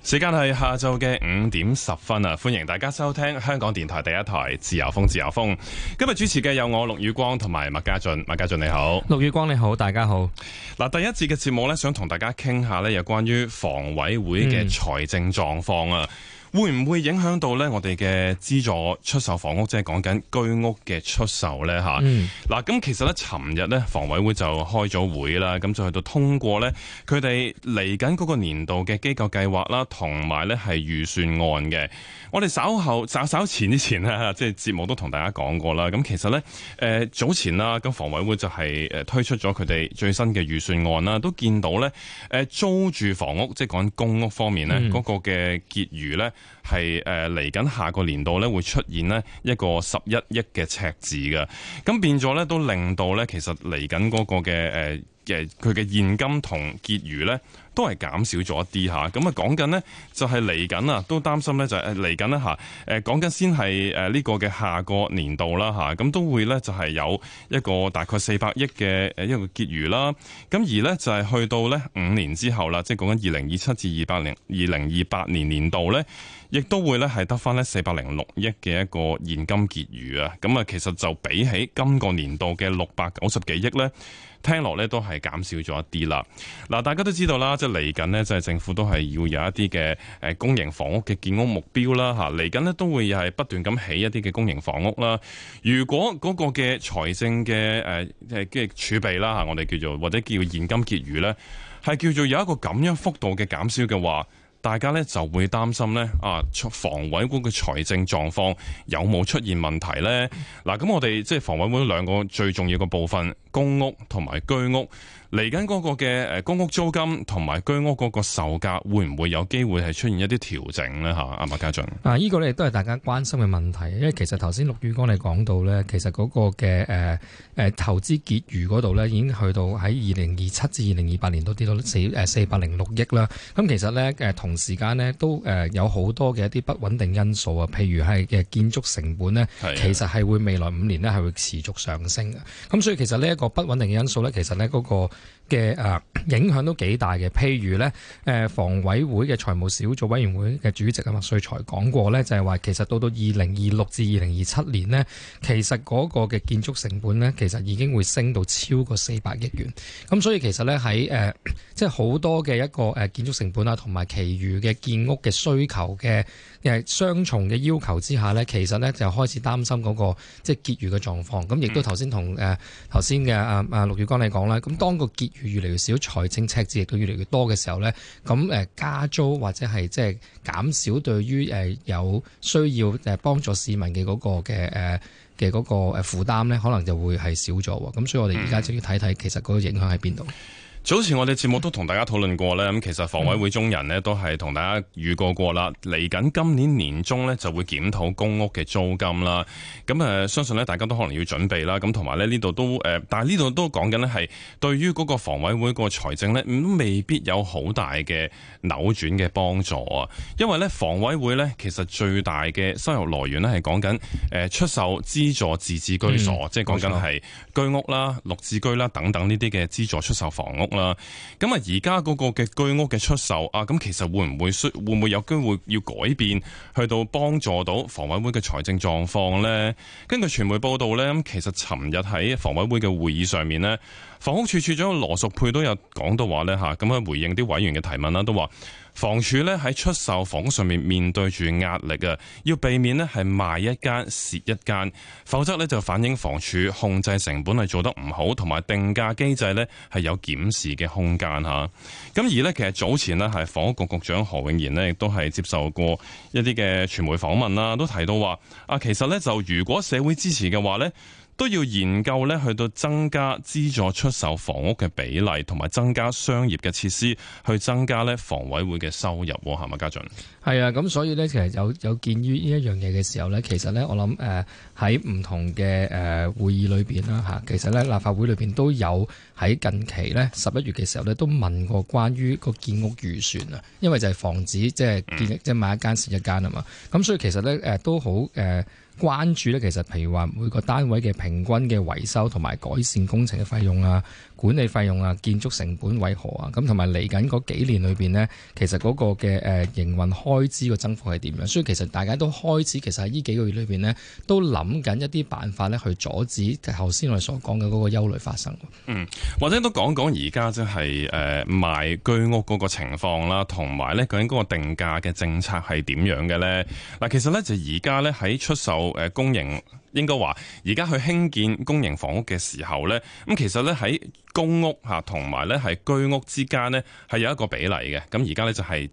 時間係下晝嘅5:10啊！歡迎大家收聽香港電台第一台自由風。自由風今日主持嘅有我陸宇光同埋麥家俊。麥家俊你好。 陸宇光你好，大家好。 嗱，第一節嘅節目呢，想同大家傾下呢，有關於房委會嘅財政狀況啊。會唔會影響到呢我哋嘅資助出售房屋，即係講緊居屋嘅出售呢？嗱，咁其實呢，尋日呢房委會就開咗會啦，咁就去到通過呢佢哋嚟緊嗰個年度嘅機構計劃啦，同埋呢係預算案嘅。我哋稍前之前呢，即係節目都同大家講過啦。咁其實呢，早前啦，咁房委會就係推出咗佢哋最新嘅預算案啦，都見到呢租住房屋，即係講公屋方面呢，嗰個嘅結餘呢。係嚟緊下個年度咧會出現呢一個11億嘅赤字嘅，咁變咗咧都令到咧其實嚟緊嗰個嘅佢嘅現金同結餘咧都係減少咗一啲嚇，咁啊講緊呢就係嚟緊啊，都擔心咧就係嚟緊啦嚇，講緊先係呢個嘅下個年度啦嚇，咁都會咧就係有一個大概400億嘅一個結餘啦，咁而咧就係去到咧5年之後啦，即係講緊2027至2028年年度咧。亦都會咧係得翻咧406億嘅一個現金結餘啊！咁啊，其實就比起今個年度嘅690幾億咧，聽落咧都係減少咗一啲啦。嗱，大家都知道啦，即係嚟緊呢，即係政府都係要有一啲嘅公營房屋嘅建屋目標啦嚇。嚟緊呢都會係不斷咁起一啲嘅公營房屋啦。如果嗰個嘅財政嘅嘅儲備啦嚇，我哋叫做或者叫現金結餘咧，係叫做有一個咁樣幅度嘅減少嘅話，大家咧就會擔心咧房委會嘅財政狀況有冇出現問題咧？嗱，咁我哋即係房委會兩個最重要嘅部分，公屋同埋居屋。嚟緊嗰個嘅公屋租金同埋居屋嗰個售價會唔會有機會係出現一啲調整呢？阿麥家俊， 呢個咧都係大家關心嘅問題，因為其實頭先陸宇光你講到咧，其實嗰個嘅投資結餘嗰度咧已經去到喺2027至2028年都跌到406億啦。咁其實咧同時間咧都有好多嘅一啲不穩定因素啊，譬如係嘅建築成本咧，其實係會未來5年咧係會持續上升嘅。咁所以其實呢一個不穩定嘅因素咧，其實咧嗰個嘅影響都幾大嘅。譬如咧房委會嘅財務小組委員會嘅主席麥萃才講過咧，就係話其實到2026至2027年呢，其實嗰個嘅建築成本呢，其實已經會升到超過400億元。咁所以其實咧喺即係好多嘅一個建築成本啊，同埋其餘嘅建屋嘅需求嘅雙重嘅要求之下咧，其實咧就開始擔心嗰個即係結餘嘅狀況。咁亦都頭先同頭先嘅陸宇光你講啦，咁當個結餘越嚟越少，財政赤字亦都越嚟越多嘅時候咧，咁加租或者係即係減少對於有需要幫助市民嘅嗰個嘅嗰個負擔咧，可能就會係少咗。咁所以我哋而家就要睇睇其實嗰個影響喺邊度。 早前我哋節目都同大家討論過咧，咁其實房委會中人呢都係同大家預告過啦，嚟緊今年年中呢就會檢討公屋嘅租金啦。咁相信呢大家都可能要準備啦。咁同埋呢度都但係呢度都講緊呢係對於嗰個房委會個財政呢未必有好大嘅扭轉嘅幫助啊。因為呢房委會呢其實最大嘅收入來源呢係講緊出售資助自置居所，即係講緊係居屋啦、綠置居啦等等呢啲嘅資助出售房屋啦。咁啊，而家嗰個嘅居屋嘅出售啊，咁其實會唔會有機會要改變，去到幫助到房委會嘅財政狀況呢？根據傳媒報道呢，咁其實尋日喺房委會嘅會議上面呢，房屋處處長羅淑佩都有講到話呢吓，咁啊回應啲委員嘅提問啦，都話房署呢喺出售房屋上面對住壓力啊，要避免呢係賣一間蝕一間，否則呢就反映房署控制成本係做得唔好，同埋定價機制呢係有檢視嘅空間吓。咁而呢，其實早前呢係房屋局局長何永賢呢亦都係接受過一啲嘅傳媒訪問啦，都提到話其實呢就如果社會支持嘅話呢，都要研究咧，去到增加資助出售房屋嘅比例，同埋增加商業嘅設施，去增加咧房委會嘅收入，係咪家俊？ 係啊，咁所以咧，其實有見於呢一樣嘢嘅時候咧，其實咧，我諗喺唔同嘅會議裏邊啦嚇，其實咧立法會裏邊都有喺近期咧11月嘅時候咧，都問過關於個建屋預算啊，因為就係防止即係買一間蝕一間啊嘛，咁所以其實咧都好關注咧，其實譬如話每個單位嘅平均嘅維修同埋改善工程嘅費用啊、管理費用啊、建築成本為何啊，咁同埋嚟緊嗰幾年裏邊呢，其實嗰個嘅營運開支個增幅係點樣？所以其實大家都開始其實喺呢幾個月裏邊呢，都諗緊一啲辦法咧去阻止頭先我哋所講嘅嗰個憂慮發生。 或者都講講而家即係賣居屋嗰個情況啦，同埋咧究竟嗰個定價嘅政策係點樣嘅咧？嗱，其實咧就而家咧喺出售公營，應該話而家去興建公營房屋嘅時候咧，咁其實咧喺公屋同埋咧係居屋之間咧係有一個比例嘅。咁而家咧就係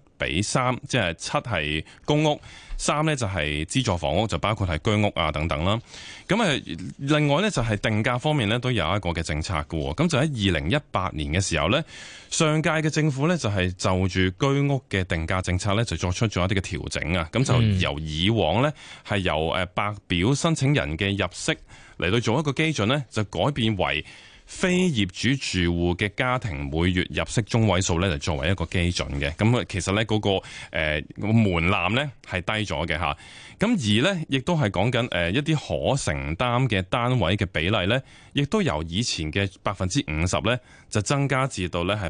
7:3，即係7係公屋，3咧就係資助房屋，就包括係居屋啊等等啦。咁另外咧就係定價方面咧都有一個嘅政策嘅。咁就喺2018年嘅時候咧，上屆嘅政府咧就係就住居屋嘅定價政策咧就作出咗一啲嘅調整啊。咁就由以往咧係由白表申請人嘅入息嚟到做一個基準咧，就改變為非業主住戶嘅家庭每月入息中位數咧，就作為一個基準嘅。咁其實咧嗰個門檻咧係低咗嘅嚇。咁而咧亦都係講緊一啲可承擔嘅單位嘅比例咧，亦都由以前嘅50%咧，就增加至到咧係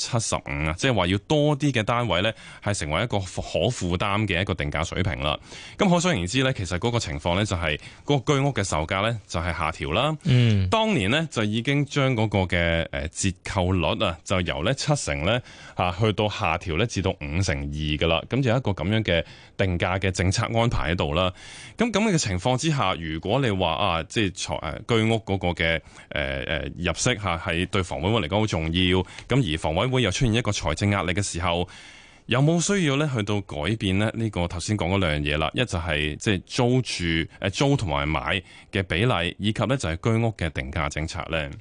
75%啊！即係話要多啲嘅單位咧，係成為一個可負擔嘅一個定價水平啦。咁可想而知咧，其實嗰個情況咧就係嗰個居屋嘅售價咧就係下調啦。當年咧就已經將嗰個嘅折扣率啊，就由咧7成咧去到下調咧至到52%噶啦。咁就有一個咁樣嘅定價嘅政策安排喺度啦。咁嘅情況之下，如果你話即係居屋嗰個嘅入息係對房委會嚟講好重要，咁而房委會又出現一個財政壓力嘅時候，有冇需要咧去到改變咧呢個頭先講嗰兩樣嘢啦？一就係即係租同埋買嘅比例，以及咧就係居屋嘅定價政策咧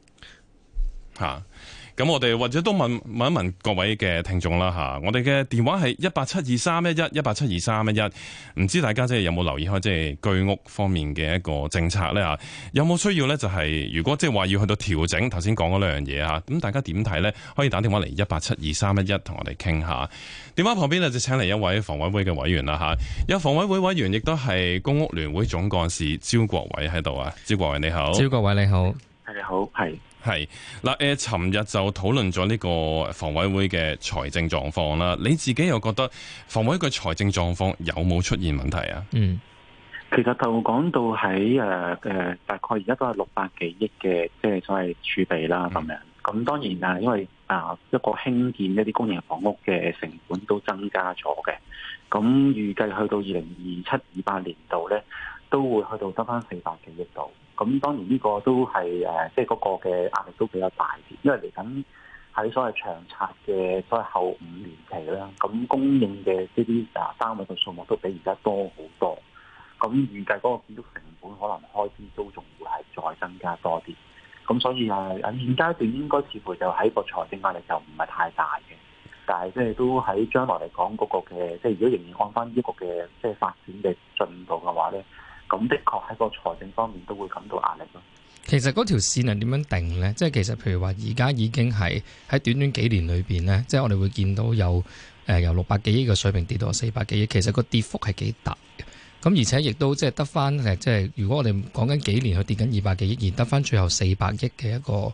咁我哋或者都問一問各位嘅聽眾啦我哋嘅電話係1872311，1872311，唔知大家即係有冇留意開即係居屋方面嘅一個政策咧有冇需要咧？就係如果即係話要去到調整頭先講嗰兩樣嘢咁大家點睇咧？可以打電話嚟1872311同我哋傾下。電話旁邊就請嚟一位房委會嘅委員啦有房委會委員亦都係公屋聯會總幹事招國偉喺度啊。招國偉你好。 招國偉你好。 你好， 係嗱，尋日就討論咗呢個房委會嘅財政狀況啦。你自己又覺得房委會嘅財政狀況有冇出現問題啊？ 其實就講到喺大概而家都係600幾億嘅，即係所謂儲備啦咁樣。咁當然因為一個興建一啲公營房屋嘅成本都增加咗嘅。咁預計去到2027-28年度咧，都會去到得返400幾億度。咁當然呢個都係即係嗰個嘅壓力都比較大啲，因為嚟緊喺所謂長策嘅所謂後5年期啦，咁供應嘅呢啲單位嘅數目都比而家多好多。咁預計嗰個建築成本可能開支都仲會係再增加多啲。咁所以現階段應該似乎就喺個財政壓力就唔係太大嘅，但係即係都喺將來嚟講嗰個嘅，即係如果仍然按翻呢個嘅即係發展嘅進度嘅話咧，咁的確喺個財政方面都會感到壓力咯。 其實嗰條線係點樣定呢？即係其實譬如話而家已經係喺短短幾年裏邊呢，即係我哋會見到有由600幾億嘅水平跌到400幾億，其實個跌幅係幾大嘅。咁而且亦都即係得翻即係如果我哋講緊幾年去跌緊200幾億，而得翻最後400億嘅一個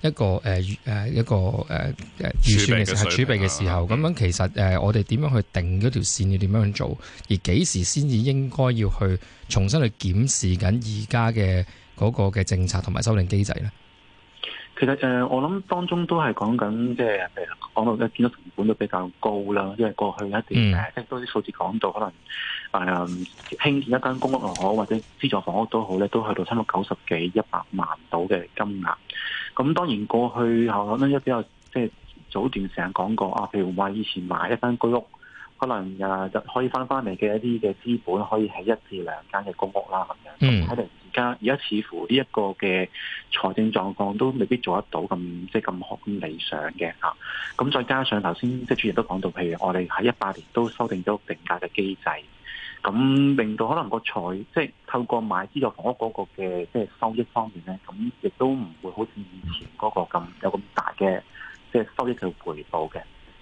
預算嘅時候，儲備嘅時候，咁樣其實我哋點樣去定嗰條線，要點樣去做，而幾時先至應該要去重新去檢視緊而家嘅嗰個嘅政策同埋修訂機制咧？ 其實我諗當中都係講緊，即係譬如講到建築成本都比較高啦，因為過去一段即係多啲數字講到，可能興建一間公屋又好，或者資助房屋都好咧，都去到差唔多90幾100萬到嘅金額。咁當然過去可能一比較即係早段時間講過譬如話以前買一間居屋，可能就可以翻嚟嘅一啲嘅資本，可以係1至2間嘅公屋啦咁樣。睇嚟而家似乎呢一個嘅財政狀況都未必做得到咁即係咁理想嘅嚇。咁再加上頭先即係主持人都講到，譬如我哋喺18年都修訂咗定價嘅機制，咁令到可能個即係透過買資助房屋嗰個嘅即係收益方面咧，咁亦都唔會好似以前嗰個咁有咁大嘅即係收益嘅回報嘅。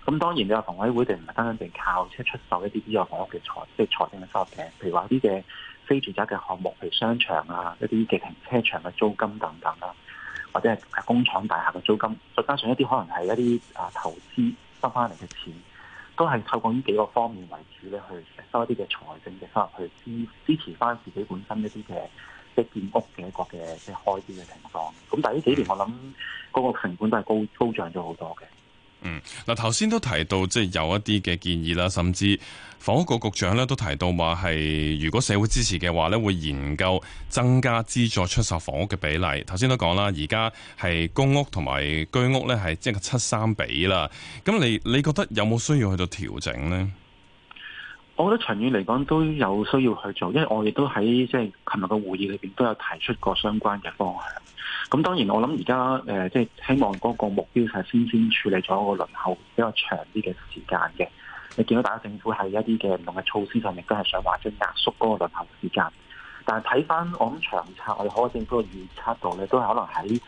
咁當然你話房委會哋唔係單單地靠即係出售一啲資助房屋嘅財政嘅收入嘅，譬如話啲嘅非住宅嘅項目，譬如商場啊、一啲嘅停車場嘅租金等等啦，或者係工廠大廈嘅租金，再加上一啲可能係一啲投資收翻嚟嘅錢，都係透過呢幾個方面為主咧，去收一啲嘅財政嘅收入去支持翻自己本身一啲嘅即係建屋嘅一個嘅即係開支嘅情況。咁但係呢幾年我諗嗰個成本都係高漲咗好多嘅。 嗱，頭先都提到即係有一啲嘅建議啦，甚至房屋局局長咧都提到話係如果社會支持嘅話咧，會研究增加資助出售房屋嘅比例。頭先都講啦，而家係公屋同埋居屋咧係即係7:3比啦。咁你覺得有冇需要去到調整呢？ 我覺得長遠嚟講都有需要去做，因為我亦都喺即係琴日嘅會議裏邊都有提出過相關嘅方向。咁當然我諗而家即係希望嗰個目標係先處理咗個輪候比較長啲嘅時間嘅。你見到大家政府喺一啲嘅唔同嘅措施上面都係想話即係壓縮嗰個輪候時間，但係睇翻我諗長策，我哋可政府嘅預測度咧，都係可能喺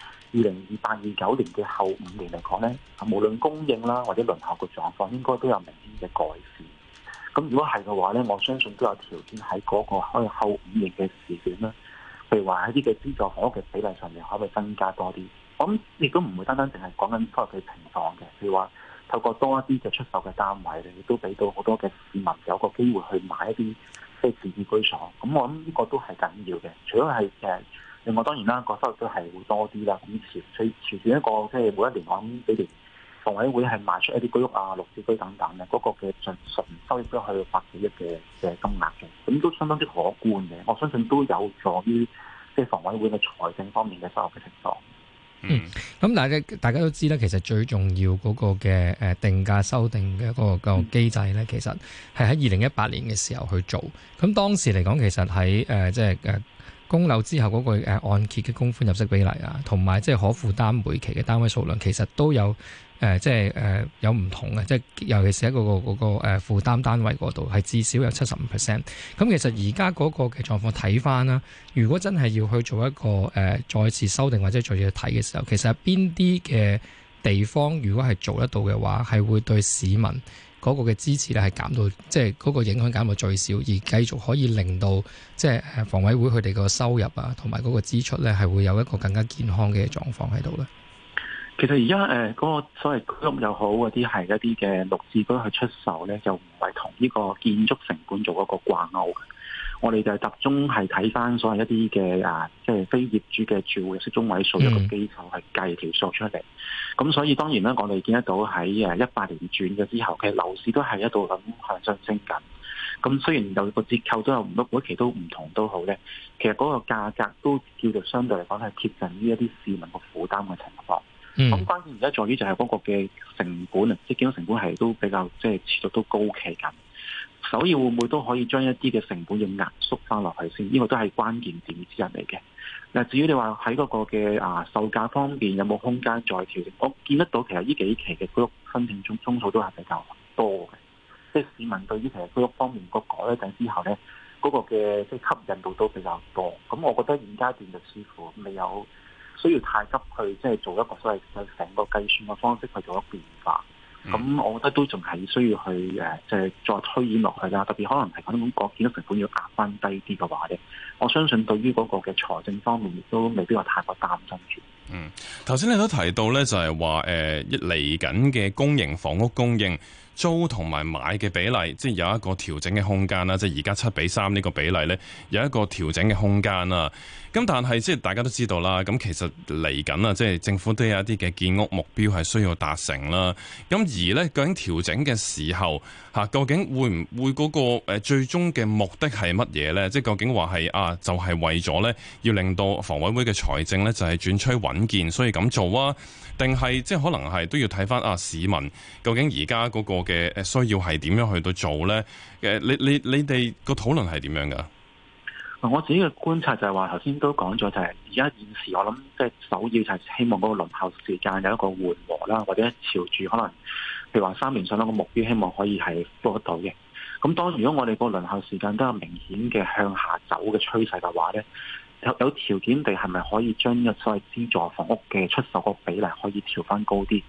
2028-29年嘅後5年嚟講咧，無論供應啦或者輪候嘅狀況，應該都有明顯嘅改善。咁如果係嘅話咧，我相信都有條件喺嗰個可能後5年嘅時段啦，譬如話喺啲嘅資助房屋嘅比例上面可唔可以增加多啲？我諗亦都唔會單單淨係講緊收入嘅情況嘅，譬如話透過多一啲嘅出售嘅單位，亦都俾到好多嘅市民有個機會去買一啲即係自置居所。咁我諗呢個都係緊要嘅。除咗係另外當然啦，個收入都係會多啲啦。咁隨住一個即係每一年我諗幾年。房委會係賣出一啲居屋啊、綠置居等等嘅，嗰個嘅純收益都去到100幾億嘅金額嘅，咁都相當之可觀嘅。我相信都有助於即係房委會嘅財政方面嘅收入嘅情況。 咁大家都知咧，其實最重要嗰個嘅定價修訂嘅一個機制咧，其實係喺2018年嘅時候去做。咁當時嚟講，其實喺即係供樓之後嗰個按揭嘅供款入息比例啊，同埋即係可負擔每期嘅單位數量，其實都有有唔同嘅，即係尤其是喺嗰個負擔單位嗰度，係至少有75%。咁其實而家嗰個嘅狀況睇翻啦，如果真係要去做一個再次修訂或者再次睇嘅時候，其實邊啲嘅地方如果係做得到嘅話，係會對市民嗰個嘅支持咧係減到，即係嗰個影響減到最少，而繼續可以令到即係房委會佢哋個收入啊，同埋嗰個支出咧係會有一個更加健康嘅狀況喺度咧。 其實而家嗰個所謂居屋又好，嗰啲係一啲嘅綠置居去出售咧，就唔係同呢個建築成本做一個掛鈎嘅。我哋就係集中係睇翻所謂一啲嘅即係非業主嘅住戶入息中位數一個基礎去計條數出嚟。咁所以當然啦，我哋見得到喺18年轉咗之後，其實樓市都係一度咁向上升緊。咁雖然有個折扣都有唔多，每期都唔同都好咧，其實嗰個價格都叫做相對嚟講係貼近於一啲市民個負擔嘅情況。咁關鍵而家在於就係嗰個嘅成本啊，即係建築成本係都比較即係持續都高企緊。首要會唔會都可以將一啲嘅成本要壓縮翻落去先？呢個都係關鍵點之一嚟嘅。嗱，至於你話喺嗰個嘅售價方面有冇空間再調整？我見得到其實呢幾期嘅居屋申請宗數都係比較多嘅，即係市民對於其實居屋方面個改咗制之後咧，嗰個嘅即係吸引度都比較多。咁我覺得現階段就似乎未有需要太急去即係做一個所謂成個計算嘅方式去做一個變化。咁我覺得都仲係需要去即係再推演落去啦。特別可能係咁講，建築成本要壓翻低啲嘅話咧，我相信對於嗰個嘅財政方面亦都未必話太過擔心住。 頭先你都提到咧，就係話嚟緊嘅公營房屋供應租同埋買嘅比例，即係有一個調整嘅空間啦。即係而家7:3呢個比例咧，有一個調整嘅空間啦。咁但係即係大家都知道啦，咁其實嚟緊啊，即係政府都有一啲嘅建屋目標係需要達成啦。咁而咧，究竟調整嘅時候究竟會唔會嗰個最終嘅目的係乜嘢咧？即係究竟話係就係為咗咧要令到房委會嘅財政咧就係轉趨穩健，所以咁做啊？定係即係可能係都要睇翻市民究竟而家嗰個嘅需要係點樣去到做咧？你哋個討論係點樣㗎？ 我自己嘅觀察就係話，頭先都講咗，就係而家現時我諗即係首要就係希望嗰個輪候時間有一個緩和啦，或者朝住可能譬如話3年上一個目標，希望可以係做得到嘅。咁當如果我哋個輪候時間都有明顯嘅向下走嘅趨勢嘅話咧，有條件地係咪可以將呢個所謂資助房屋嘅出售個比例可以調翻高啲？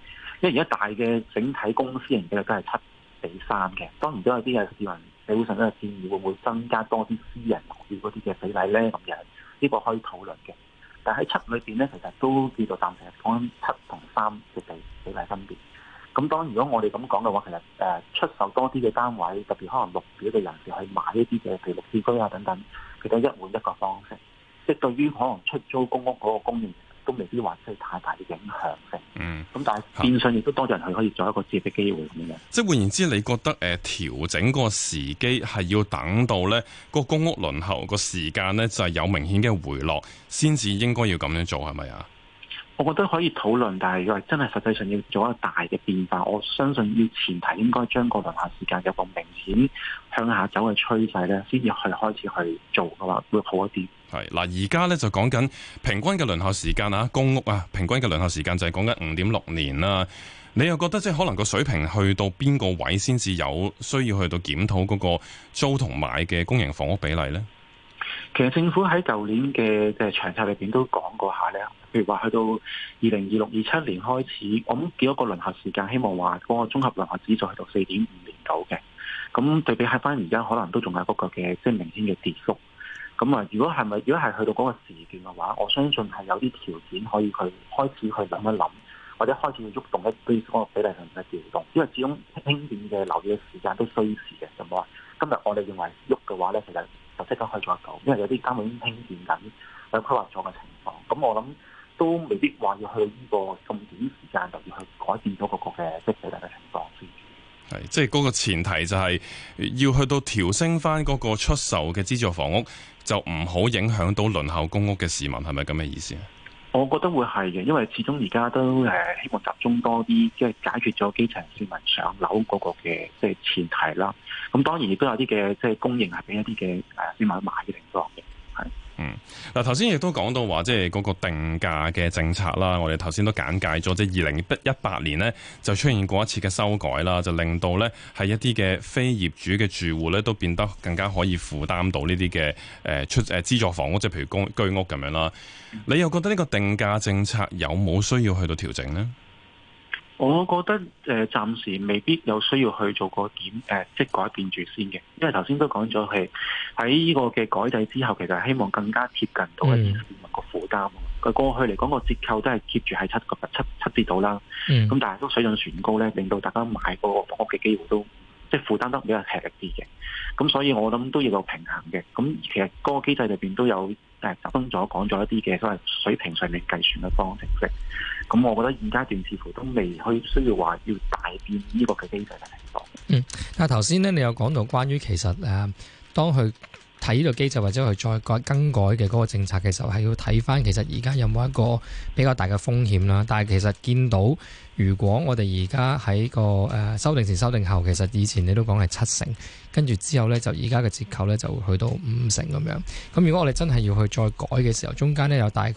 因為而家大嘅整體公私營比例都係7:3嘅，當然都有啲嘅市民社會上都有建議會唔會增加多啲私人樓宇嗰啲嘅比例咧咁樣，呢個可以討論嘅。但喺7裏邊咧，其實都叫做暫時係講緊7同3嘅比例分別。咁當然如果我哋咁講嘅話，其實出售多啲嘅單位，特別可能綠表嘅人士去買一啲嘅譬如綠置居啊等等，其實一換一個方式，即係對於可能出租公屋嗰個供應都未必話真係太大嘅影響性。咁但係變相亦都多咗人去可以做一個置業嘅機會咁樣。 即係換言之，你覺得調整個時機係要等到咧個公屋輪候個時間咧就係有明顯嘅回落，先至應該要咁樣做係咪啊？ 我覺得可以討論，但係如果真係實際上要做一個大嘅變化，我相信要前提應該將個輪候時間有個明顯向下走嘅趨勢咧，先至去開始去做嘅話，會好一啲。 係嗱，而家咧就講緊平均嘅輪候時間啊，公屋啊，平均嘅輪候時間就係講緊5.6年啦。你又覺得即係可能個水平去到邊個位先至有需要去到檢討嗰個租同買嘅公營房屋比例咧？ 其實政府喺舊年嘅長策裏邊都講過下咧，譬如話去到2026-27年開始，我諗幾多個輪候時間，希望話嗰個綜合輪候指數去到4.5年度嘅。咁對比喺翻而家，可能都仲有嗰個嘅即係明顯嘅跌幅。咁啊，如果係去到嗰個時段嘅話，我相信係有啲條件可以去開始去諗一諗，或者開始去喐動一啲嗰個比例上面嘅調動。因為始終興建嘅樓宇嘅時間都需時嘅，就冇話今日我哋認為喐嘅話咧，其實就即刻可以做得到，因為有啲單位已經興建緊，有規劃咗嘅情況。咁我諗都未必話要去呢個咁短時間就要去改變到嗰個嘅即係比例嘅情況先。 係，即係嗰個前提就係要去到調升翻嗰個出售嘅資助房屋，就唔好影響到輪候公屋嘅市民，係咪咁嘅意思啊？ 我覺得會係嘅，因為始終而家都希望集中多啲，即係解決咗基層市民上樓嗰個嘅即係前提啦。咁當然亦都有啲嘅即係供應係俾一啲嘅市民買嘅情況嘅。 嗱，頭先亦都講到話，即係嗰個定價嘅政策啦。我哋頭先都簡介咗，即係2018年呢就出現過一次嘅修改啦，就令到呢係一啲嘅非業主嘅住戶呢都變得更加可以負擔到呢啲嘅資助房屋，即係譬如居屋咁樣啦。你又覺得呢個定價政策有冇需要去到調整呢？ 我覺得暫時未必有需要去做個即係改變住先嘅，因為頭先都講咗係喺呢個嘅改制之後，其實希望更加貼近到一啲市民個負擔。佢過去嚟講個折扣都係 keep 住喺七折度啦，咁但係都水漲船高咧，令到大家買嗰個房屋嘅機會都即係負擔得比較吃力啲嘅。咁所以我諗都要有平衡嘅。咁其實嗰個機制裏邊都有集中咗講咗一啲嘅所謂水平上面計算嘅方程式。咁我覺得現階段似乎都未需要話要大變呢個嘅機制嘅情況。 但係頭先咧，你有講到關於其實當佢睇呢個機制或者佢再更改嘅嗰個政策嘅時候，係要睇翻其實而家有冇一個比較大嘅風險啦。但係其實見到，如果我哋而家喺個修訂前修訂後，其實以前你都講係7成，跟住之後呢，就而家嘅折扣呢就去到5成咁樣。咁如果我哋真係要去再改嘅時候，中間呢有大概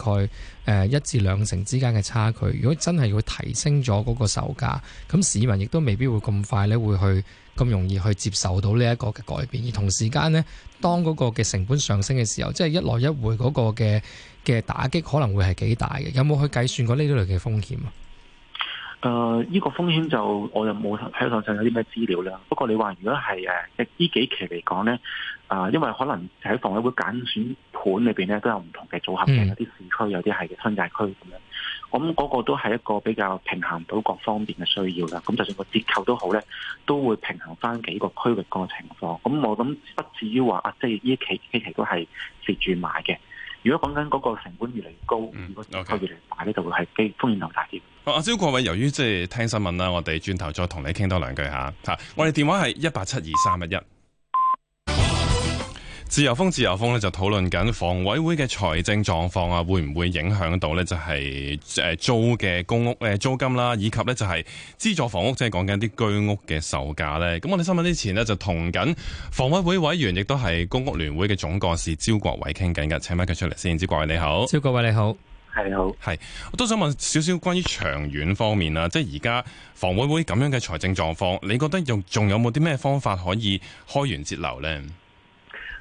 1至2成之間嘅差距。如果真係要提升咗嗰個售價，咁市民亦都未必會咁快呢會去咁容易去接受到呢一個嘅改變。而同時間呢，當嗰個嘅成本上升嘅時候，即係一來一回嗰個嘅打擊可能會係幾大嘅。有冇去計算過呢類嘅風險啊？ 呢個風險就我又冇喺度上有啲咩資料啦。不過你話如果係呢幾期嚟講咧，因為可能喺房委會揀選盤裏邊咧都有唔同嘅組合嘅，有啲市區，有啲係新界區咁樣。咁嗰個都係一個比較平衡到各方面嘅需要啦。咁就算個折扣都好咧，都會平衡翻幾個區域嗰個情況。咁我諗不至於話即係呢一期都係蝕住買嘅。如果講緊嗰個成本越嚟越高，如果折扣越嚟越大咧，就會係風險又大啲。 阿招國偉，由於即係聽新聞啦，我哋轉頭再同你傾多兩句嚇。我哋電話係1872311。自由風咧就討論緊房委會嘅財政狀況啊，會唔會影響到呢？就係租嘅公屋租金啦，以及呢就係資助房屋，即係講緊啲居屋嘅售價呢。咁我哋新聞之前呢，就同緊房委會委員，亦都係公屋聯會嘅總幹事招國偉傾緊㗎。請返佢出嚟先。招國偉你好。 招國偉你好。 係好。 係，我都想問少少關於長遠方面啦，即係而家房委會咁樣嘅財政狀況，你覺得仲有冇啲咩方法可以開源節流呢？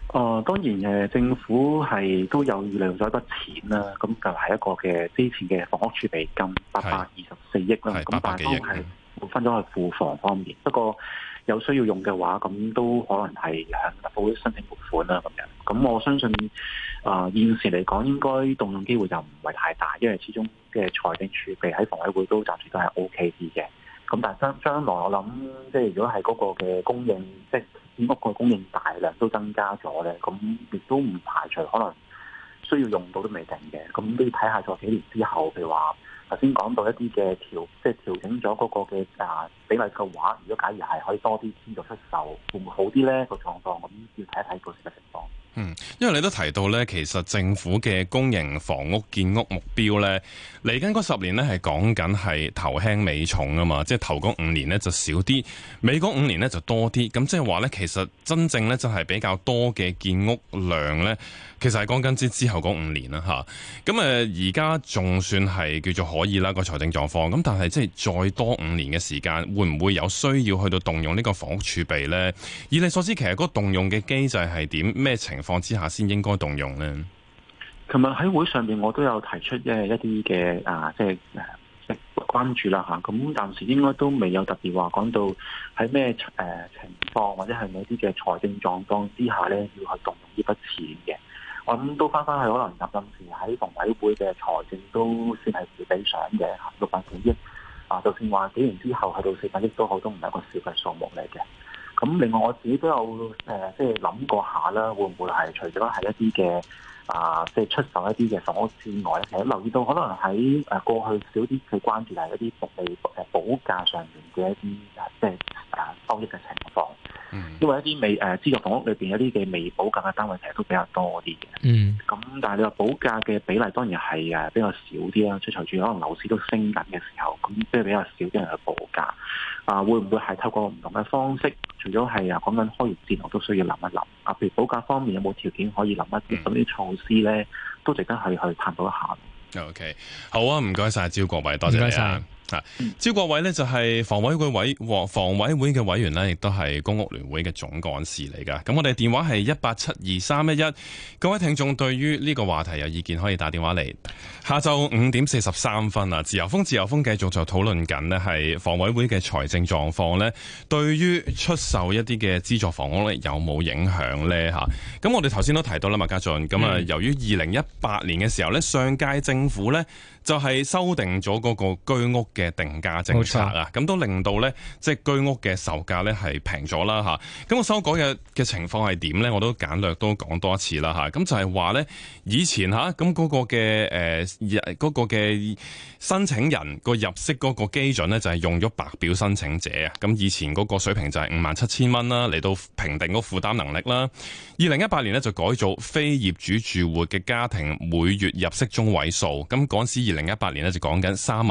當然政府係都有預留咗一筆錢啦，咁就係一個嘅之前嘅房屋儲備金824億啦，咁但係都係會分咗去庫房方面。不過有需要用嘅話，咁都可能係向立法會申請撥款啦咁樣。咁我相信現時嚟講，應該動用機會就唔係太大，因為始終嘅財政儲備喺房委會都暫時都係 OK 啲嘅。咁但係將來我諗，即係如果係嗰個嘅供應，即係建屋個供應大量都增加咗咧，咁亦都唔排除可能需要用到都未定嘅。咁都要睇下咗幾年之後，譬如話頭先講到一啲嘅即係調整咗嗰個嘅比例嘅話，如果假如係可以多啲資助出售，會唔會好啲咧個狀況？咁要睇一睇到時嘅情況。 因為你都提到咧，其實政府嘅公營房屋建屋目標咧，嚟緊嗰10年咧係講緊係頭輕尾重啊嘛，即係頭嗰5年咧就少啲，尾嗰5年咧就多啲。咁即係話咧，其實真正咧真係比較多嘅建屋量咧，其實係講緊之後嗰5年啦嚇。咁而家仲算係叫做可以啦個財政狀況，咁但係即係再多5年嘅時間，會唔會有需要去到動用呢個房屋儲備咧？以你所知，其實嗰個動用嘅機制係點？咩情況之下先應該動用呢？ 琴日喺會上面我都有提出一啲嘅即係關注啦嚇。咁暫時應該都未有特別話講到喺咩情況或者係某啲嘅財政狀況之下咧，要去動用呢筆錢嘅。我諗都翻去可能暫時喺房委會嘅財政都算係比上嘅600幾億就算話幾年之後去到400億都好，都唔係一個小嘅數目嚟嘅。咁另外我自己都有即係諗過下啦，會唔會係除咗係一啲嘅即係出售一啲嘅房屋之外咧，其實留意到可能喺過去少啲佢關注係一啲福利補價上面嘅一啲即係收益嘅情況。因為一啲資助房屋裏邊一啲嘅未補價嘅單位其實都比較多啲嘅。咁但係你話補價嘅比例當然係比較少啲啦。即係隨住可能樓市都升緊嘅時候，咁即係比較少啲人去補價。會唔會係透過唔同嘅方式？除咗係講緊開源節流，都需要諗一諗。譬如補價方面有冇條件可以諗一啲咁啲措施咧，都值得去探討一下。 OK， 好啊，唔該晒招國偉，多謝你啊。招國偉呢就係房委會嘅委員呢，亦都係公屋聯會嘅總幹事嚟噶。咁我哋電話係1872311，各位聽眾對於呢個話題有意見可以打電話嚟。下晝5點43分啊，自由風繼續就討論緊呢係房委會嘅財政狀況呢，對於出售一啲嘅資助房屋呢有冇影響呢？吓？咁我哋頭先都提到啦，麥家俊，咁由於2018年嘅時候呢，上屆政府呢就係修訂咗嗰個居屋嘅定價政策啊，咁都令到咧即係居屋嘅售價咧係平咗啦嚇。咁個修改嘅情況係點咧？我都簡略都講多一次啦嚇。咁就係話咧，以前嚇咁嗰個嘅申請人個入息嗰個基準咧，就係用咗白表申請者啊。咁以前嗰個水平就係57,000蚊啦，嚟到評定個負擔能力啦。2018年咧就改做非業主住戶嘅家庭每月入息中位數。咁嗰陣時2018年咧就講緊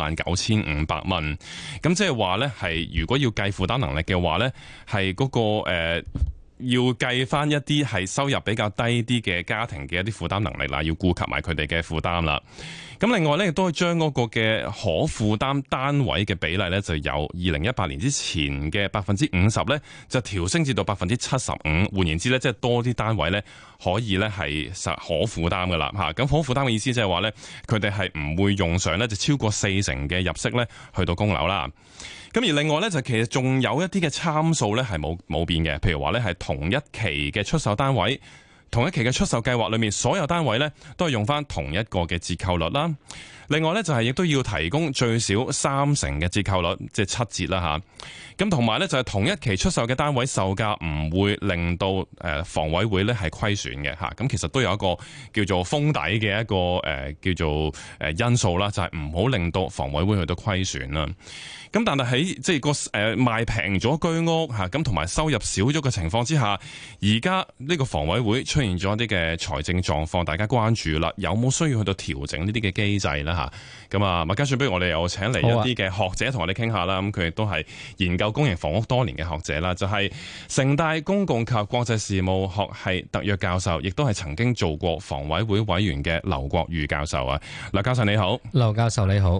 39,500蚊。咁即係話咧，係如果要計負擔能力嘅話咧，係嗰個要計翻一啲係收入比較低啲嘅家庭嘅一啲負擔能力啦，要顧及埋佢哋嘅負擔啦。咁另外咧，亦都係將嗰個嘅可負擔單位嘅比例咧，就由2018年之前嘅50%咧，就調升至到75%。換言之咧，即係多啲單位咧，可以咧係可負擔噶啦嚇。咁可負擔嘅意思即係話咧，佢哋係唔會用上咧就超過40%嘅入息咧去到供樓啦。咁而另外咧，就其實仲有一啲嘅參數咧係冇變嘅，譬如話咧係同一期嘅出售單位。同一期嘅出售計劃裏面，所有單位咧都係用翻同一個嘅折扣率啦。另外咧就係亦都要提供最少3成嘅折扣率，即係7折啦吓。咁同埋咧就係同一期出售嘅單位售價唔會令到房委會咧係虧損嘅吓。咁其實都有一個叫做封底嘅一個叫做因素啦，就係唔好令到房委會去到虧損啦。咁但係喺即係個賣平咗居屋吓，咁同埋收入少咗嘅情況之下，而家呢個房委會出現咗一啲嘅財政狀況，大家關注啦，有冇需要去到調整呢啲嘅機制咧吓？咁啊，麥家俊，不如我哋又請嚟一啲嘅學者同我哋傾下啦。咁佢亦都係研究公營房屋多年嘅學者啦，就係城大公共及國際事務學系特約教授，亦都係曾經做過房委會委員嘅劉國裕教授啊。劉教授你好。 劉教授你好。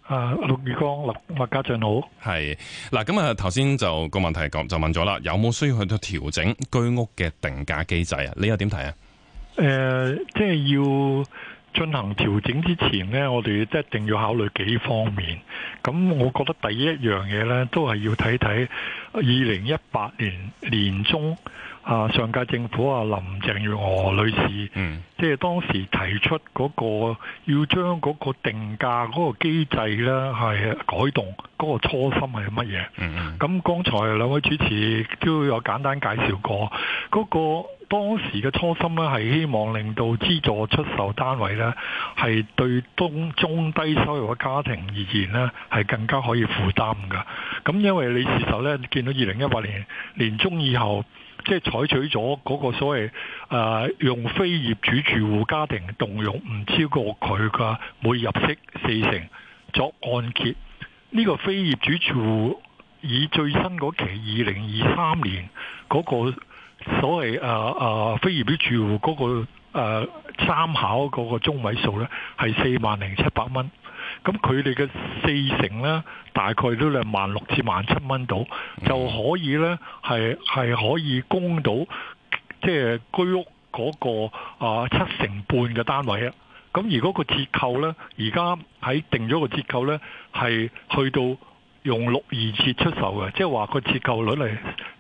陸宇光、麥家俊好。 係嗱，咁啊頭先就個問題就問咗啦，有冇需要去到調整居屋嘅定價機制啊？你又點睇啊？ 即係要進行調整之前呢，我哋一定要考慮幾方面。咁我覺得第一樣嘢呢，都係要睇睇2018年年中上屆政府林鄭月娥女士，即係當時提出嗰個要將嗰個定價嗰個機制呢係改動，嗰個初心係乜嘢？咁剛才兩位主持都有簡單介紹過嗰個。當時嘅初心咧，係希望令到資助出售單位咧，係對中低收入嘅家庭而言咧，係更加可以負擔㗎。咁因為你事實咧，見到2018年年中以後，即係採取咗嗰個所謂用非業主住戶家庭動用唔超過佢嘅每入息40%作按揭，呢個非業主住戶以最新嗰期2023年嗰個。所謂非業主住戶嗰個參考嗰個中位數咧係40,700蚊，咁佢哋嘅40%咧大概都16,000至17,000到，就可以咧係可以供到即係居屋嗰個7成半嘅單位啊。咁而嗰個折扣咧，而家喺定咗個折扣咧係去到用62折出售嘅，即係話個折扣率係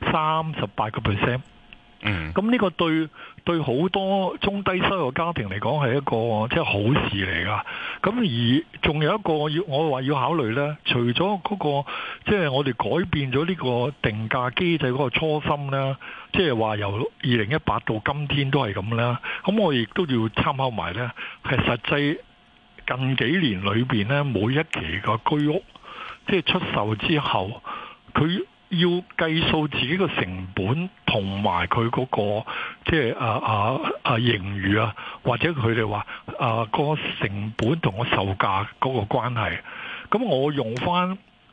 38%。咁呢個對好多中低收入家庭嚟講係一個即係好事嚟噶。咁而仲有一個我話要考慮呢，除咗嗰個即係我哋改變咗呢個定價機制嗰個初心呢，即係話由2018到今天都係咁啦。咁我亦都要參考埋呢，係實際近幾年裏邊呢，每一期嘅居屋即係出售之後，佢要計數自己嘅成本同埋佢嗰個即係盈餘啊，或者佢哋話個成本同個售價嗰個關係。咁我用翻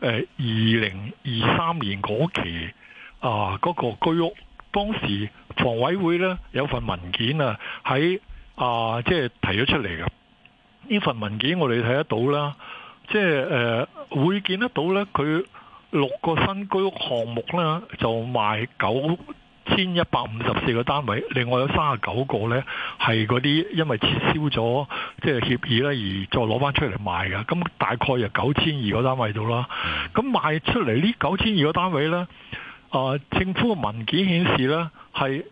2023年嗰期嗰個居屋，當時房委會呢有份文件啊喺即係提咗出嚟嘅。呢份文件我哋睇得到啦，即係會見得到呢佢。6個新居屋項目呢，就賣9,154個單位，另外有39個呢係嗰啲因為撤銷咗即係協議呢而再攞翻出嚟賣嘅，咁大概就9,200個單位到啦。咁賣出嚟呢9,200個單位呢，政府嘅文件顯示呢係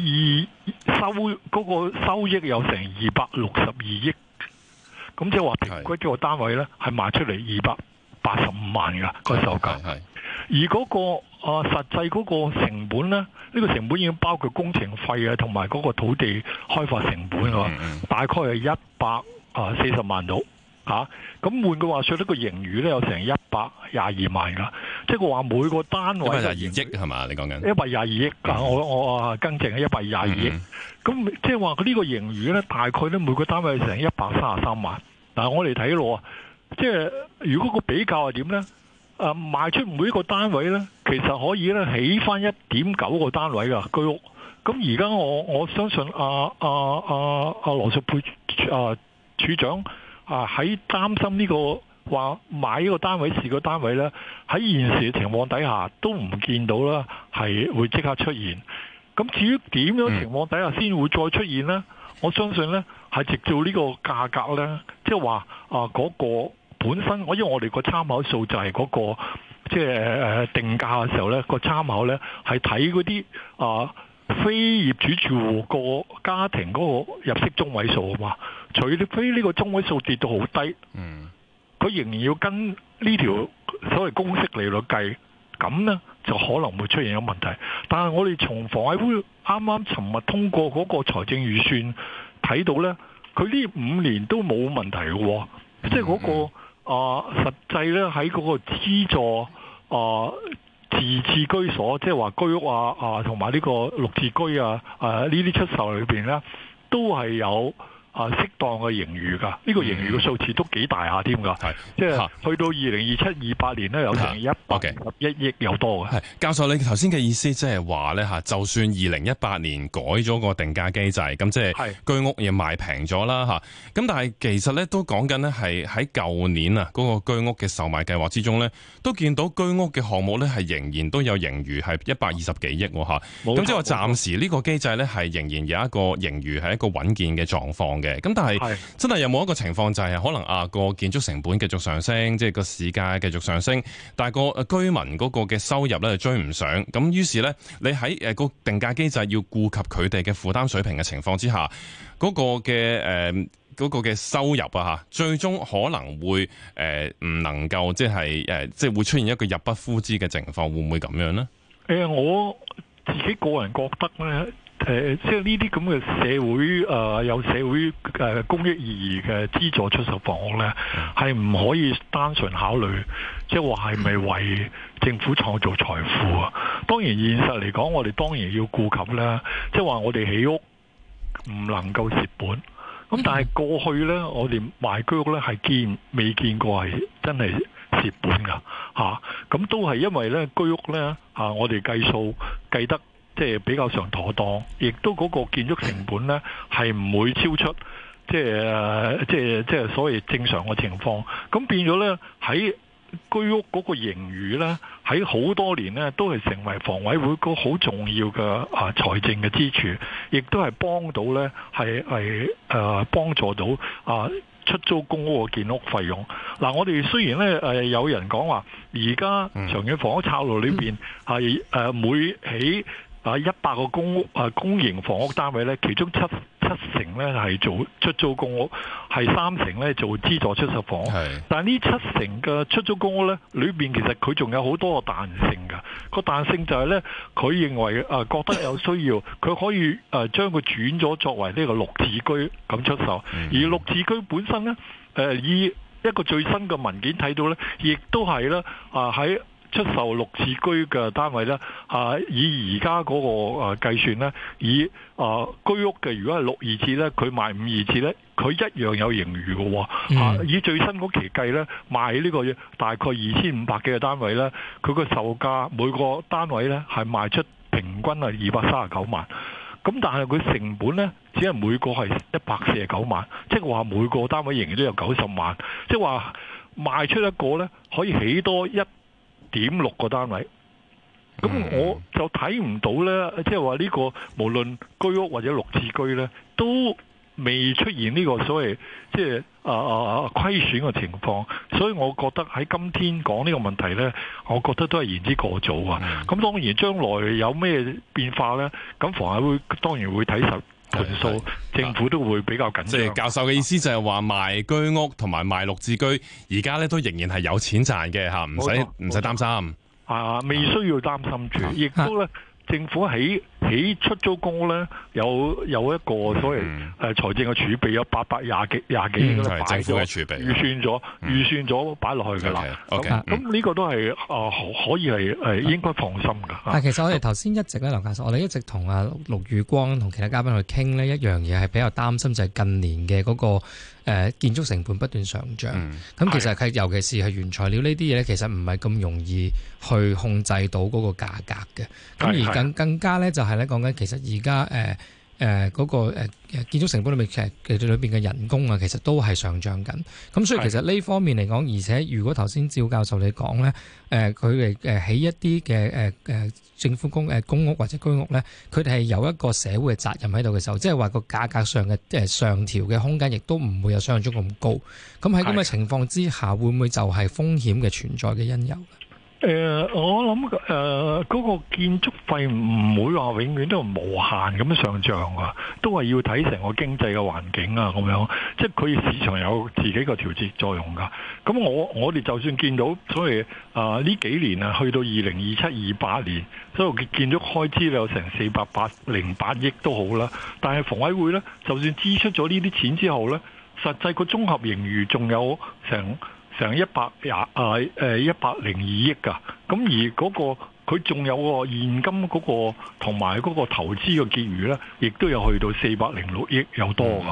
嗰個收益有成262億，咁即係話平均咗個單位呢係賣出嚟285萬㗎個售價，而嗰個實際嗰個成本呢，呢個成本已經包括工程費啊，同埋嗰個土地開發成本啊，大概係140萬到嚇。咁換句話說，呢個盈餘呢有成122萬㗎，即係話每個單位 122億係嘛？你講緊 122億啊！我更正係122億。咁即係話呢個盈餘呢，大概呢每個單位成133萬。嗱，我哋睇落啊。即係如果個比較係點呢？賣出每一個單位呢，其實可以咧起翻1.9個單位噶居屋。咁而家我相信羅淑佩處長喺擔心呢個話買呢個單位試個單位呢，喺現時嘅情況底下都唔見到啦，係會即刻出現。咁至於點樣情況底下先會再出現呢？我相信呢係直照呢個價格呢，即係話嗰個。本身因為我哋個參考數就係嗰個即係定價嘅時候呢，個參考呢係睇嗰啲非業主住戶個家庭嗰個入息中位數啊嘛。除非呢個中位數跌到好低，佢仍然要跟呢條所謂公式利率計，咁呢就可能會出現有問題。但係我哋從房委會啱啱尋日通過嗰個財政預算睇到呢，佢呢5年都冇問題嘅，即係嗰個。實際咧喺嗰個資助自置居所，即係話居屋同埋呢個綠置居呢啲出售裏邊咧，都係有適當嘅盈餘㗎，呢個盈餘嘅數字都幾大下添㗎，即係去到2027-28年咧有成111億有多嘅。 教授，你頭先嘅意思即係話咧嚇，就算2018年改咗個定價機制，咁即係居屋亦賣平咗啦嚇，咁但係其實咧都講緊咧係喺舊年啊嗰個居屋嘅售賣計劃之中咧，都見到居屋嘅項目咧係仍然都有盈餘係120幾億喎嚇，咁即係話暫時呢個機制咧係仍然有一個盈餘係一個穩健嘅狀況嘅，咁但係真係有冇一個情況就係可能個建築成本繼續上升，即係個市價繼續上升，但係個居民嗰個嘅收入咧追唔上，咁於是咧你喺個定價機制要顧及佢哋嘅負擔水平嘅情況之下，嗰個嘅收入啊，最終可能會唔能夠即係會出現一個入不敷支嘅情況，會唔會咁樣呢？ 我自己個人覺得咧，即係呢啲咁嘅社會有社會公益意義嘅資助出售房屋咧，係唔可以單純考慮，即係話係咪為政府創造財富啊？當然現實嚟講，我哋當然要顧及啦，即係話我哋起屋唔能夠蝕本。咁但係過去咧，我哋賣居屋咧係未見過係真係蝕本㗎嚇。咁都係因為咧居屋咧我哋計數計得即係比較上妥當，亦都嗰個建築成本咧係唔會超出即係所謂正常嘅情況。咁變咗咧喺居屋嗰個盈餘咧，喺好多年咧都係成為房委會個好重要嘅財政嘅支柱，亦都係幫到咧幫助到出租公屋嘅建屋費用。嗱，我哋雖然咧有人講話，而家長遠房屋策略裏邊係每起100個公營房屋單位咧，其中七成咧係做出租公屋，係3成咧做資助出售房屋。但係呢7成嘅出租公屋咧，裏邊其實佢仲有好多個彈性㗎。個彈性就係咧，佢認為覺得有需要，佢可以將佢轉咗作為呢個綠置居咁出售。而綠置居本身咧，以一個最新嘅文件睇到咧，亦都係咧喺出售綠置居嘅單位咧，以而家嗰個計算咧，以居屋嘅如果係6二折咧，佢賣5二折咧，佢一樣有盈餘嘅。以最新嗰期計咧，賣呢個大概2500幾嘅單位咧，佢個售價每個單位咧係賣出平均係239萬。咁但係佢成本咧，只係每個係149萬，即係話每個單位仍然都有90萬，即係話賣出一個咧可以起多1.6個單位。咁我就睇唔到咧，即係話呢個無論居屋或者綠置居咧，都未出現呢個所謂即係虧損嘅情況，所以我覺得喺今天講呢個問題呢，我覺得都係言之過早啊。咁當然將來有咩變化呢？咁房委會當然會睇實盤數，政府都會比較緊張。 即係教授嘅意思就係話賣居屋同埋賣綠置居，而家呢都仍然係有錢賺嘅嚇，唔使擔心。 未需要擔心住，亦都呢。政府起出租公屋咧，有一個所謂財政嘅儲備，有820幾億都擺咗， 政府嘅儲備預算咗擺落去㗎啦。咁呢個都係可以係應該放心㗎。 但其實我哋頭先一直咧，劉教授，我哋一直同陸宇光同其他嘉賓去傾呢一樣嘢係比較擔心，就係近年嘅嗰個建築成本不斷上漲。咁其實尤其是係原材料呢啲嘢咧，其實唔係咁容易去控制到嗰個價格嘅。咁而更加咧就係咧講緊，其實而家嗰個建築成本裏面其實裏邊嘅人工啊，其實都係上漲緊。咁所以其實呢方面嚟講，而且如果頭先趙教授你講咧，佢哋起一啲嘅政府公屋或者居屋咧，佢哋係有一個社會嘅責任喺度嘅時候，即係話個價格上嘅上調嘅空間，亦都唔會有想像中咁高。咁喺咁嘅情況之下，會唔會就係風險嘅存在嘅因由？ 我諗嗰個建築費唔會話永遠都係無限咁樣上漲啊，都係要睇成個經濟嘅環境啊，咁樣，即係佢市場有自己個調節作用噶。咁我哋就算見到，所謂呢幾年啊，去到2027-28年，所有嘅建築開支有成408億都好啦，但係房委會呢，就算支出咗呢啲錢之後呢，實際個綜合盈餘仲有成102億㗎，咁而嗰個佢仲有個現金嗰個同埋嗰個投資嘅結餘咧，亦都有去到406億有多㗎。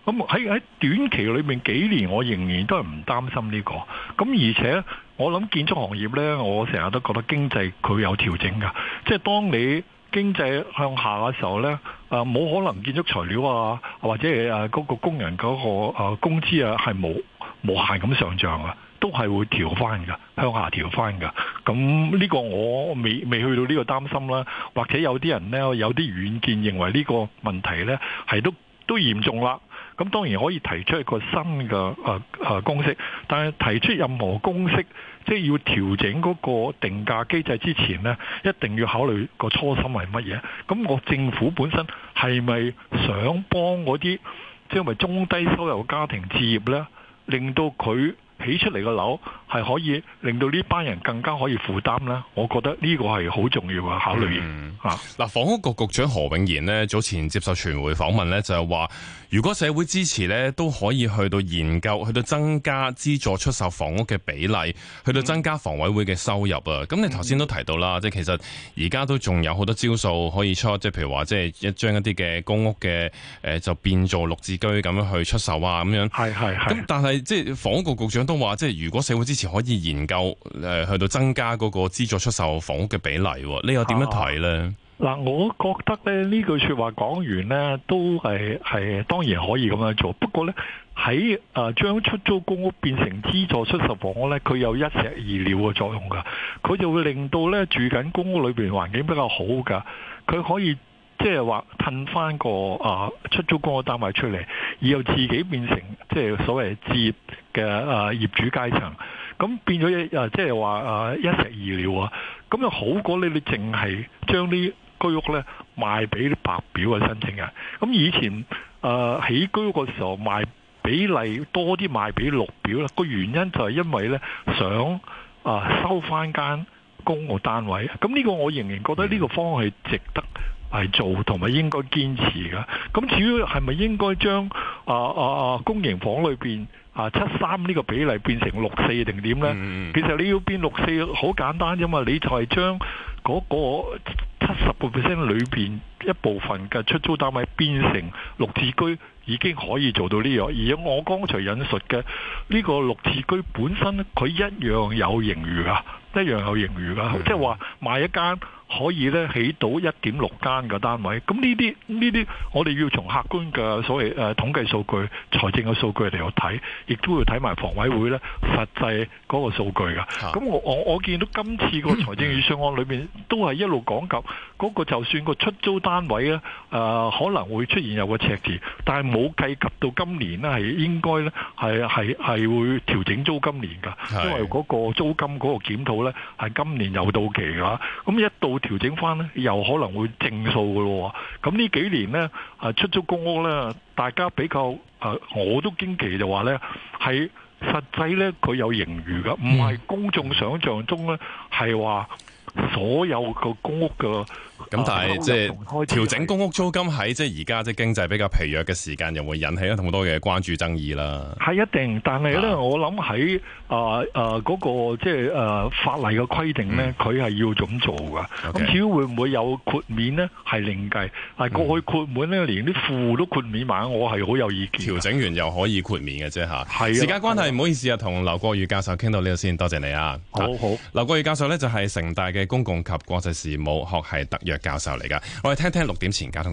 咁喺短期裏面幾年，我仍然都係唔擔心呢個。咁而且我諗建築行業呢，我成日都覺得經濟佢有調整㗎。即係當你經濟向下嘅時候呢，冇可能建築材料啊，或者係嗰個工人嗰個工資啊係無限咁上漲啊，都係會調翻㗎，向下調翻㗎。咁呢個我未去到呢個擔心啦。或者有啲人呢，有啲遠見認為呢個問題呢係都嚴重啦。咁當然可以提出一個新嘅公式，但係提出任何公式，即係要調整嗰個定價機制之前呢，一定要考慮個初心係乜嘢。咁我政府本身係咪想幫嗰啲即係咪中低收入家庭置業呢，令到佢起出嚟嘅樓係可以令到呢班人更加可以負擔呢？我覺得呢個係好重要嘅考慮。 嗱，房屋局局長何永賢呢，早前接受傳媒訪問呢，就係話，如果社會支持呢，都可以去到研究，去到增加資助出售房屋嘅比例，去到增加房委會嘅收入啊。咁你頭先都提到啦，即係其實而家都仲有好多招數可以出，即係譬如話，即係將一啲嘅公屋嘅就變做綠置居咁樣去出售啊，咁樣。係。咁但係即係房屋局局長都話，即係如果社會支持可以研究去到增加嗰個資助出售房屋嘅比例，你又點樣睇呢？ 嗱，我覺得咧呢句說話講完呢，都係當然可以咁樣做。不過呢，喺將出租公屋變成資助出售房屋呢，佢有一石二鳥嘅作用噶。佢就會令到呢住緊公屋裏邊環境比較好噶。佢可以即係話褪翻個出租公屋單位出嚟，而又自己變成即係所謂置業嘅業主階層。咁變咗即係話一石二鳥啊！咁就好過你淨係將啲居屋呢賣俾啲白表嘅申請人。咁以前起居屋嘅時候賣比例多啲賣俾綠表啦，個原因就係因為呢想收翻間公屋單位。咁呢個我仍然覺得呢個方案係值得係做同埋應該堅持嘅。咁至於係咪應該將公營房裏邊7:3呢個比例變成6:4定點呢？其實你要變6:4好簡單啫嘛，你就係將嗰個70% 裏邊一部分嘅出租單位變成綠置居，已經可以做到呢樣。而我剛才引述嘅呢個綠置居本身，佢一樣有盈餘噶，即係話賣一間可以咧起到1.6間嘅單位。咁呢啲我哋要從客觀嘅所謂統計數據、財政嘅數據嚟去睇，亦都要睇埋房委會咧實際嗰個數據噶。咁我見到今次個財政預算案裏面都係一路講及嗰個，就算個出租單位咧可能會出現有個赤字，但係冇計及到今年咧係應該咧係會調整租金年噶，因為嗰個租金嗰個檢討咧係今年又到期噶。咁一到調整翻咧，又可能會正數噶咯。咁呢幾年咧出租公屋咧，大家比較我都驚奇就話咧係實際咧佢有盈餘噶，唔係公眾想象中咧係話所有個公屋嘅。咁但係即係調整公屋租金喺即係而家即係經濟比較疲弱嘅時間，又會引起好多嘅關注爭議啦。係一定，但係咧我諗喺嗰個即係法例嘅規定咧，佢係要咁做噶。咁至於會唔會有豁免呢？係另計。係過去豁免咧，連啲富戶都豁免埋，我係好有意見。調整完又可以豁免嘅啫嚇。係。時間關係，唔好意思啊，同劉國宇教授傾到呢度先，多謝你啊。好。劉國宇教授咧就係城大嘅公共及國際事務學系特約教授嚟噶，我哋聽聽6點前交通。